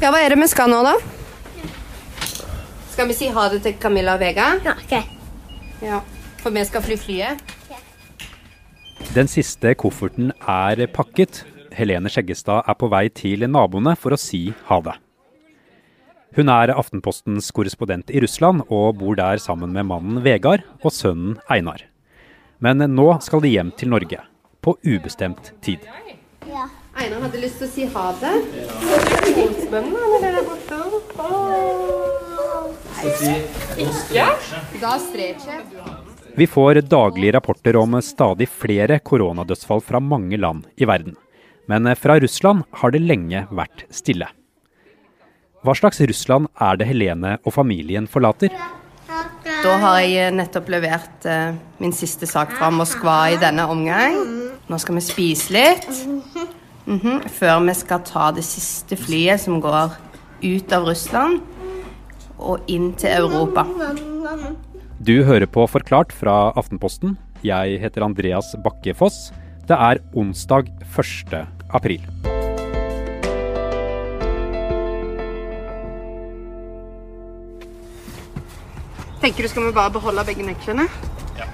Ja, hva er det vi skal nå da? Skal vi si ha det til Camilla og Vega? Ja, ok. Ja, for vi skal fly flyet. Den siste kofferten er pakket. Helene Skjeggestad er på vei til naboene for å si ha det. Hun er Aftenpostens korrespondent i Russland og bor der sammen med mannen Vegard og sønnen Einar. Men nå skal de hjem til Norge, på ubestemt tid. Ja. Einar hadde lyst til å si ha det. Spennende, det der borte. Ikke? Da streker jeg. Vi får daglige rapporter om stadig flere koronadødsfall fra mange land i verden. Men fra Russland har det lenge vært stille. Hva slags Russland er det Helene og familien forlater? Da har jeg nettopp levert min siste sak fra Moskva i denne omgang. Nå skal vi spise litt. Før vi skal ta det siste flyet som går ut av Russland og inn til Europa. Du hører på Forklart fra Aftenposten. Jeg heter Andreas Bakke-Foss. Det er onsdag 1. april. Tenker du skal vi bare beholde begge nøklene? Ja.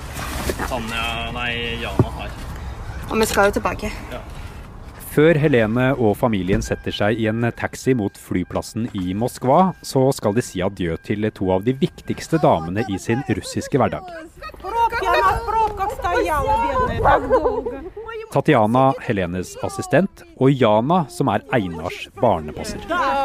Jana har. Og vi skal jo tilbake. Ja. Før Helene og familien setter seg i en taxi mot flyplassen i Moskva, så skal de si adjø til to av de viktigste damene i sin russiske hverdag. Tatjana, Helenes assistent, og Jana, som er Einars barnepasser.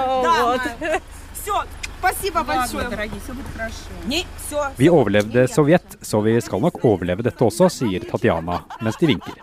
Vi overlevde Sovjet, så vi skal nok overleve dette også, sier Tatjana mens de vinker.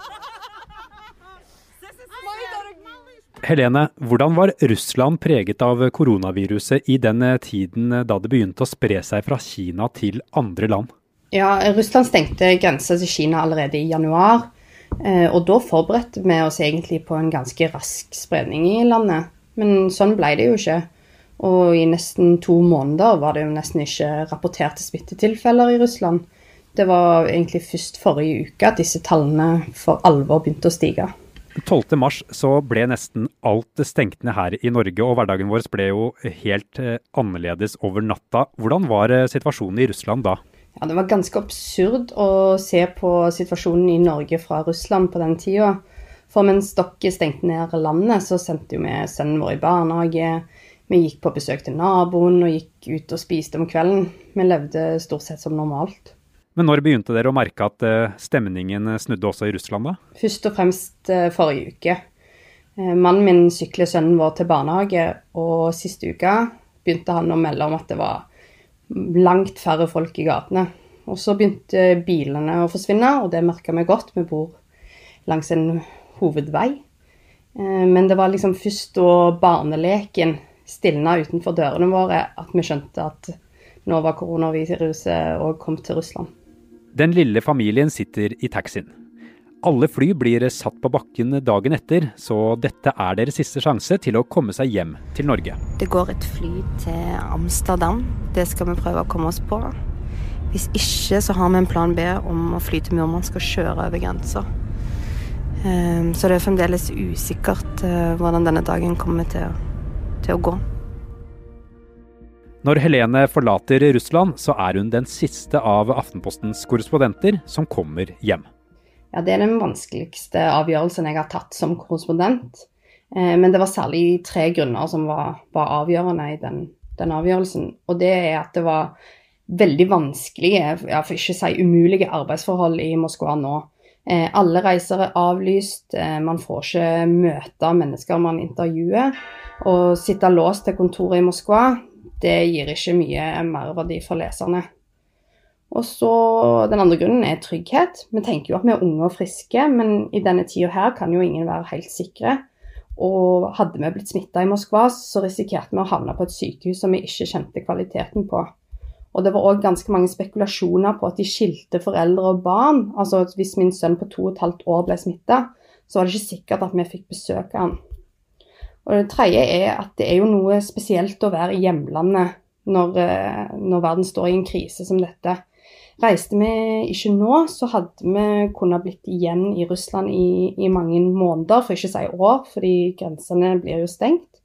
Helene, hvordan var Russland preget av koronaviruset i den tiden da det begynte å spre seg fra Kina til andre land? Ja, Russland stengte grenser til Kina allerede i januar, og da forberedte vi oss egentlig på en ganske rask spredning i landet. Men sånn ble det jo ikke. Og i nesten 2 måneder var det jo nesten ikke rapporterte smittetilfeller i Russland. Det var egentlig først forrige uke at disse tallene for alvor begynte å stige. 12. mars så ble nesten alt stengt ned her i Norge, og hverdagen vår ble jo helt annerledes over natta. Hvordan var situasjonen i Russland da? Ja, det var ganske absurd å se på situasjonen i Norge fra Russland på den tiden. For mens dere stengte ned landet, så sendte jo vi sønnen vår i barnehage. Vi gikk på besøk til naboen og gikk ut og spiste om kvelden. Vi levde stort sett som normalt. Men når begynte dere å merke at stemningen snudde også i Russland da? Først og fremst forrige uke. Mannen min sykler sønnen vår til barnehage, og siste uka begynte han å melde om at det var langt færre folk i gatene. Og så begynte bilene å forsvinne, og det merket vi godt. Vi bor langs en hovedvei. Men det var liksom først da barneleken stilnet utenfor dørene våre at vi skjønte at nå var koronaviruset og kom til Russland. Den lille familien sitter i taxien. Alle fly blir satt på bakken dagen etter, så dette er deres siste sjanse til å komme seg hjem til Norge. Det går et fly til Amsterdam. Det skal vi prøve å komme oss på. Hvis ikke så har vi en plan B om å fly til Murmansk og kjøre over grenser. Så det er fremdeles usikkert hvordan denne dagen kommer til å gå. Når Helene forlater Russland, så er hun den siste av Aftenpostens korrespondenter som kommer hjem. Ja, det er den vanskeligste avgjørelsen jeg har tatt som korrespondent. Men det var særlig 3 grunner som var avgjørende i den avgjørelsen. Og det er at det var veldig vanskelige, for ikke å si umulige arbeidsforhold i Moskva nå. Alle reiser er avlyst, man får ikke møte mennesker man intervjuer, og sitte låst til kontoret i Moskva, det gir ikke mye merverdi for leserne. Og så den andre grunnen er trygghet. Vi tenker jo at vi er unge og friske, men i denne tiden her kan jo ingen være helt sikre. Og hadde vi blitt smittet i Moskva, så risikerte vi å havne på et sykehus som vi ikke kjente kvaliteten på. Og det var også ganske mange spekulasjoner på at de skilte foreldre og barn. Altså hvis min sønn på 2,5 år ble smittet, så var det ikke sikkert at vi fikk besøke han. Og det tredje er at det er jo noe spesielt å være i hjemlandet når verden står i en krise som dette. Reiste vi ikke nå, så hadde vi kunnet blitt igjen i Russland i mange måneder, for ikke å si år, fordi grensene blir jo stengt.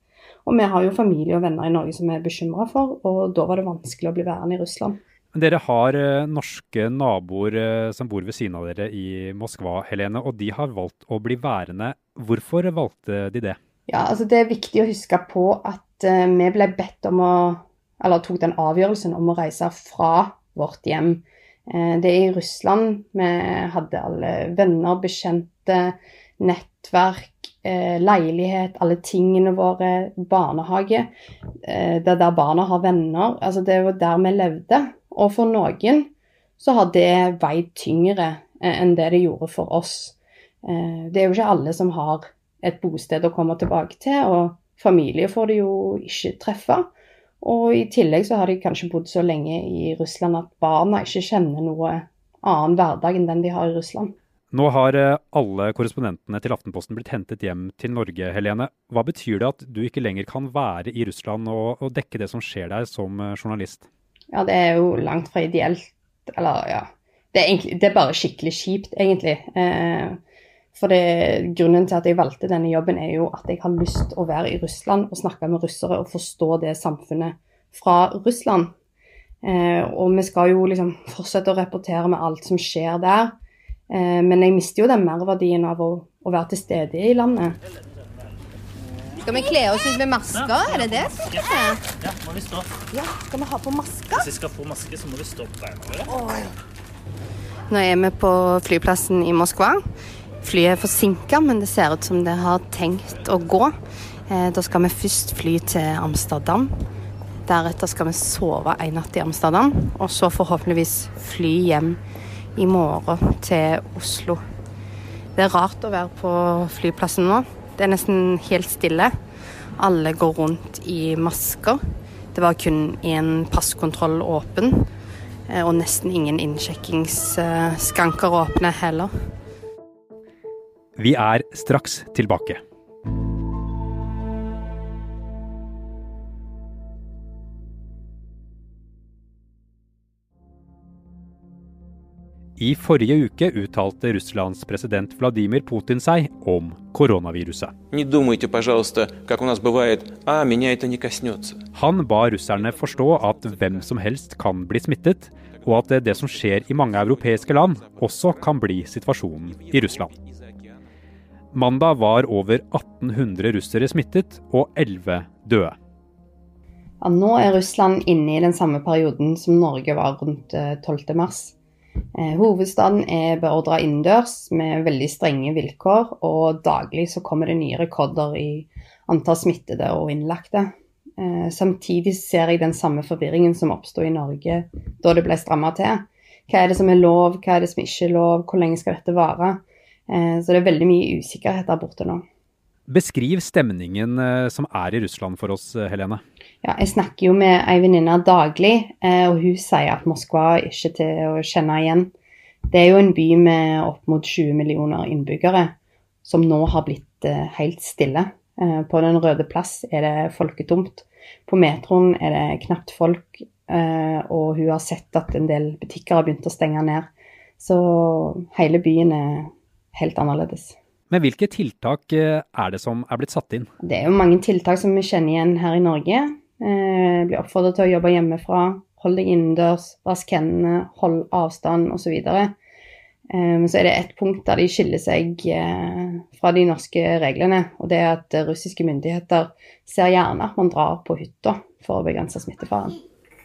Og vi har jo familie og venner i Norge som vi er bekymret for, og da var det vanskelig å bli værende i Russland. Dere har norske naboer som bor ved siden av dere i Moskva, Helene, og de har valgt å bli værende. Hvorfor valgte de det? Ja, altså det er viktig å huske på at vi ble bedt om tok den avgjørelsen om å reise fra vårt hjem. Det er i Russland vi hadde alle venner, bekjente, nettverk, leilighet, alle tingene våre, barnehage. Det er der barna har venner, altså det var der vi levde. Og for noen så har det veid tyngre enn det gjorde for oss. Det er jo ikke alle som har et bosted å komme tilbake til, og familie får de jo ikke treffe. Og i tillegg så har de kanskje bodd så lenge i Russland at barna ikke kjenner noe annen hverdag enn den de har i Russland. Nå har alle korrespondentene til Aftenposten blitt hentet hjem til Norge, Helene. Hva betyr det at du ikke lenger kan være i Russland og dekke det som skjer der som journalist? Ja, det er jo langt fra ideelt. Eller ja, det er bare skikkelig kjipt egentlig. For grunnen til at jeg valgte denne jobben er jo at jeg har lyst å være i Russland og snakke med russere og forstå det samfunnet fra Russland. Og vi skal jo liksom fortsette å rapportere med alt som skjer der. Men jeg mister jo den merverdien av å være til stede i landet. Skal vi kle oss ut med masker? Er det det som skal skje? Ja, må vi stå. Ja, skal vi ha på masker? Hvis vi skal få maske, så må vi stå på beina våre. Nå er vi på flyplassen i Moskva. Flyet er forsinket, men det ser ut som det har tenkt å gå. Da skal vi først fly til Amsterdam. Deretter skal vi sove en natt i Amsterdam, og så forhåpentligvis fly hjem i morgen til Oslo. Det er rart å være på flyplassen nå. Det er nesten helt stille. Alle går rundt i masker. Det var kun en passkontroll åpen, og nesten ingen innsjekkingsskranker åpne heller. Vi er straks tilbake. I forrige uke uttalte Russlands president Vladimir Putin seg om koronaviruset. Не думайте, пожалуйста, как у нас бывает, меня это не коснется. Han ba russerne forstå at hvem som helst kan bli smittet, og at det som skjer i mange europeiske land også kan bli situasjonen i Russland. Mandag var over 1800 russere smittet og 11 døde. Ja, nå er Russland inne i den samme perioden som Norge var rundt 12. mars. Hovedstaden er beordret innendørs med veldig strenge vilkår, og daglig så kommer det nye rekorder i antall smittede og innlagte. Samtidig ser jeg den samme forvirringen som oppstod i Norge da det ble strammet til. Hva er det som er lov, hva er det som ikke er lov, hvor lenge skal dette vare? Så det er veldig mye usikkerhet der borte nå. Beskriv stemningen som er i Russland for oss, Helene. Ja, jeg snakker jo med en venninne daglig, og hun sier at Moskva er ikke til å kjenne igjen. Det er jo en by med opp mot 20 millioner innbyggere, som nå har blitt helt stille. På Den røde plass er det folketomt. På metroen er det knapt folk, og hun har sett at en del butikker har begynt å stenge ned. Så hele byen er helt annerledes. Men hvilke tiltak er det som er blitt satt inn? Det er jo mange tiltak som vi kjenner igjen her i Norge. Blir oppfordret til å jobbe hjemmefra, hold deg innendørs, vask hendene, hold avstand og så videre. Så er det et punkt der de skiller seg fra de norske reglene, og det er at russiske myndigheter ser gjerne at man drar på hytta for å begrense smittefaren.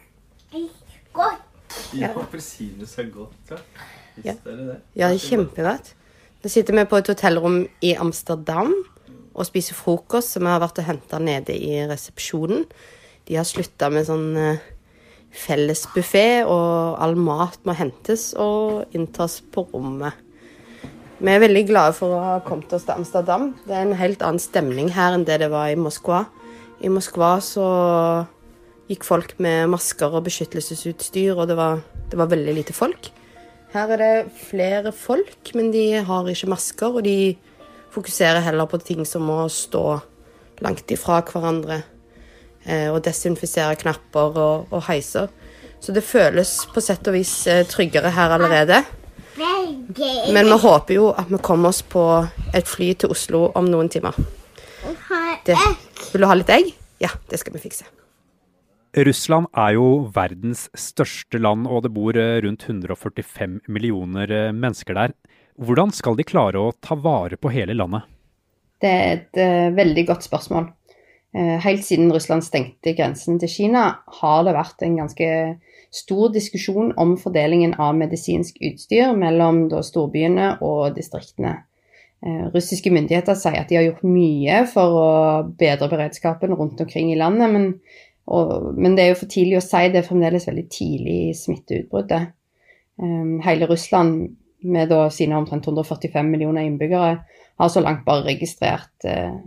Ja, appelsiner så godt, ja. Visste dere det? Ja, det er kjempegodt. Da sitter vi på et hotellrom i Amsterdam og spiser frokost som vi har vært og hentet nede i resepsjonen. De har sluttet med sånn felles buffet, og all mat må hentes og inntas på rommet. Vi er veldig glade for å ha kommet oss til Amsterdam. Det er en helt annen stemning her enn det var i Moskva. I Moskva så gikk folk med masker og beskyttelsesutstyr, og det var veldig lite folk. Her er det flere folk, men de har ikke masker, og de fokuserer heller på ting som å stå langt ifra hverandre, og desinfisere knapper og heiser. Så det føles på sett og vis tryggere her allerede. Men vi håper jo at vi kommer oss på et fly til Oslo om noen timer. Vil du ha litt egg? Ja, det skal vi fikse. Russland er jo verdens største land, og det bor rundt 145 millioner mennesker der. Hvordan skal de klare å ta vare på hele landet? Det er et veldig godt spørsmål. Helt siden Russland stengte grensen til Kina, har det vært en ganske stor diskusjon om fordelingen av medisinsk utstyr mellom storbyene og distriktene. Russiske myndigheter sier at de har gjort mye for å bedre beredskapen rundt omkring i landet, men det er jo for tidlig å si, det er fremdeles veldig tidlig i smitteutbruddet. Hele Russland, med sine omtrent 145 millioner innbyggere, har så langt bare registrert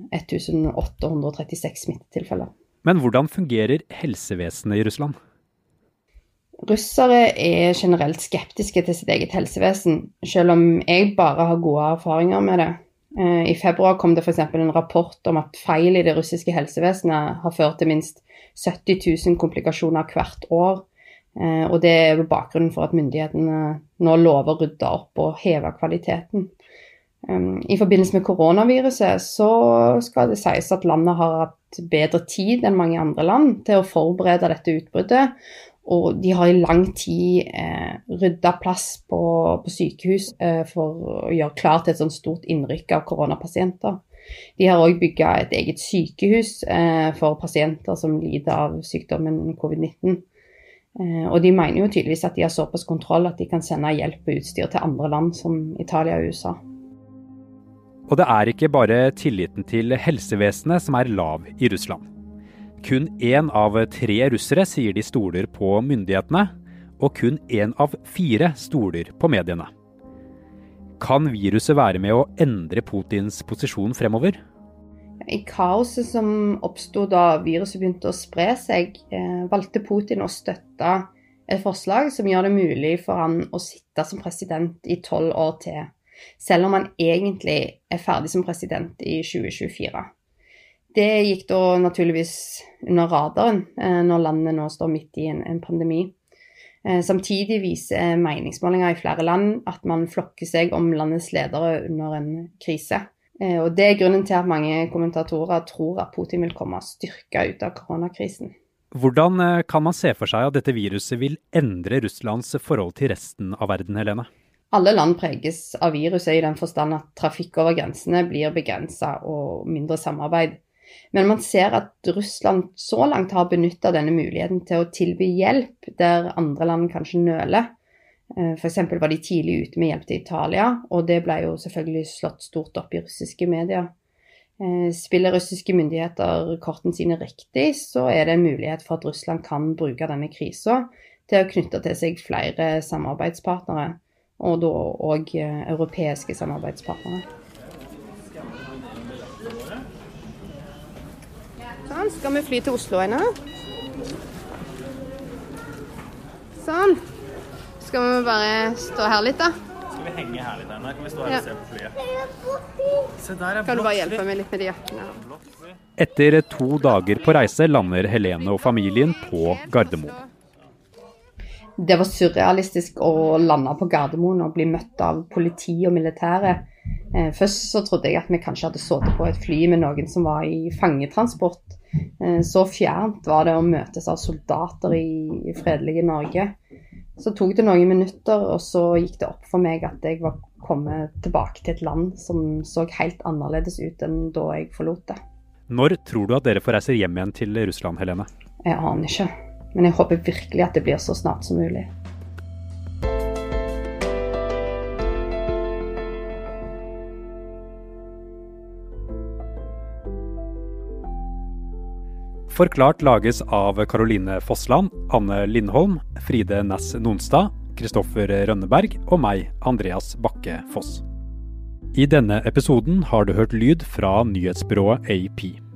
1836 smittetilfeller. Men hvordan fungerer helsevesenet i Russland? Russere er generelt skeptiske til sitt eget helsevesen, selv om jeg bare har gode erfaringer med det. I februar kom det for eksempel en rapport om at feil i det russiske helsevesenet har ført til minst 70 000 komplikasjoner hvert år, og det er bakgrunnen for at myndighetene nå lover å rydde opp og heve kvaliteten. I forbindelse med koronaviruset så skal det sies at landet har hatt bedre tid enn mange andre land til å forberede dette utbruddet, og de har i lang tid ryddet plass på sykehus for å gjøre klar til et sånt stort innrykk av koronapasienter. De har også bygget et eget sykehus for pasienter som lider av sykdommen covid-19. Og de mener jo tydeligvis at de har såpass kontroll at de kan sende hjelp og utstyr til andre land som Italia og USA. Og det er ikke bare tilliten til helsevesenet som er lav i Russland. Kun 1 av 3 russere sier de stoler på myndighetene, og kun 1 av 4 stoler på mediene. Kan viruset være med å endre Putins posisjon fremover? I kaoset som oppstod da viruset begynte å spre seg, valgte Putin å støtte et forslag som gjør det mulig for han å sitte som president i 12 år til, selv om han egentlig er ferdig som president i 2024. Det gikk da naturligvis under radaren når landet nå står midt i en pandemi. Samtidig viser meningsmålinger i flere land at man flokker seg om landets ledere under en krise. Og det er grunnen til at mange kommentatorer tror at Putin vil komme styrket ut av koronakrisen. Hvordan kan man se for seg at dette viruset vil endre Russlands forhold til resten av verden, Helene? Alle land preges av viruset i den forstand at trafikk over grensene blir begrenset og mindre samarbeid. Men man ser at Russland så langt har benyttet denne muligheten til å tilby hjelp der andre land kanskje nøler. For eksempel var de tidlig ute med hjelp til Italia, og det ble jo selvfølgelig slått stort opp i russiske medier. Spiller russiske myndigheter kortene sine riktig, så er det en mulighet for at Russland kan bruke denne krisen til å knytte til seg flere samarbeidspartnere, og da også europeiske samarbeidspartnere. Sånn, skal vi fly til Oslo ennå? Sånn. Skal vi bare stå her litt da? Skal vi henge her litt ennå? Kan vi stå her og se på flyet? Se, der er Kan du bare blått hjelpe fly. meg litt med de jakkene her? Etter 2 dager på reise lander Helene og familien på Gardermoen. Det var surrealistisk å lande på Gardermoen og bli møtt av politi og militære. Først så trodde jeg at vi kanskje hadde sittet på et fly med noen som var i fangetransport. Så fjernt var det å møtes av soldater i fredelige Norge. Så tok det noen minutter, og så gikk det opp for meg at jeg var kommet tilbake til et land som så helt annerledes ut enn da jeg forlot det. Når tror du at dere får reise hjem igjen til Russland, Helene? Jeg aner ikke, men jeg håper virkelig at det blir så snart som mulig. Forklart lages av Caroline Fossland, Anne Lindholm, Fride Næss Nonstad, Kristoffer Rønneberg og meg, Andreas Bakke Foss. I denne episoden har du hørt lyd fra nyhetsbyrået AP.